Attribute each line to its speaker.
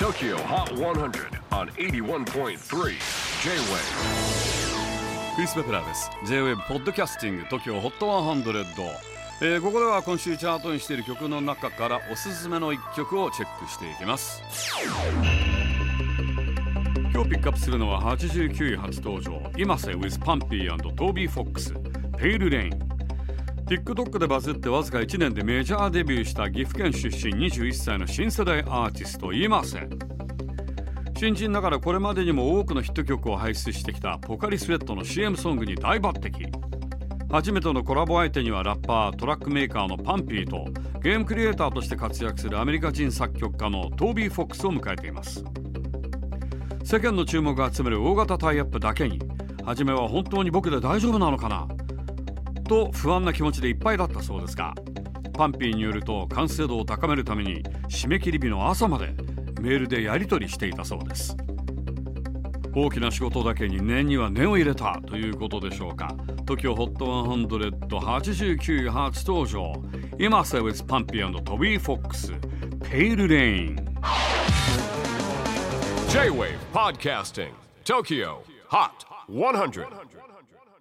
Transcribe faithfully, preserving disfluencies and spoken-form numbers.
Speaker 1: Tokyo Hot one hundred on エイティワンポイントスリー J-Wave。
Speaker 2: クリス・ベプラーです。 J-Wave ポッドキャスティング Tokyo Hot ひゃく、えー、ここでは今週チャートにしている曲の中からおすすめのいっきょくをチェックしていきます。今日ピックアップするのははちじゅうきゅうい初登場、今瀬 with Pumpy and Toby Fox Pale Rain。TikTok でバズってわずかいちねんでメジャーデビューした岐阜県出身にじゅういっさいの新世代アーティスト今瀬。新人ながらこれまでにも多くのヒット曲を輩出してきたポカリスエットの シーエム ソングに大抜擢。初めてのコラボ相手にはラッパー、トラックメーカーのパンピーとゲームクリエイターとして活躍するアメリカ人作曲家のトービー・フォックスを迎えています。世間の注目を集める大型タイアップだけに、初めは本当に僕で大丈夫なのかなと不安な気持ちでいっぱいだったそうですが、パンピーによると完成度を高めるために締め切り日の朝までメールでやり取りしていたそうです。大きな仕事だけに念には念を入れたということでしょうか。 Tokyo Hot ひゃくはちじゅうきゅうい初登場、今瀬 with Pumpy and Toby Fox Pale Rain。
Speaker 1: J-Wave Podcasting Tokyo Hot ひゃく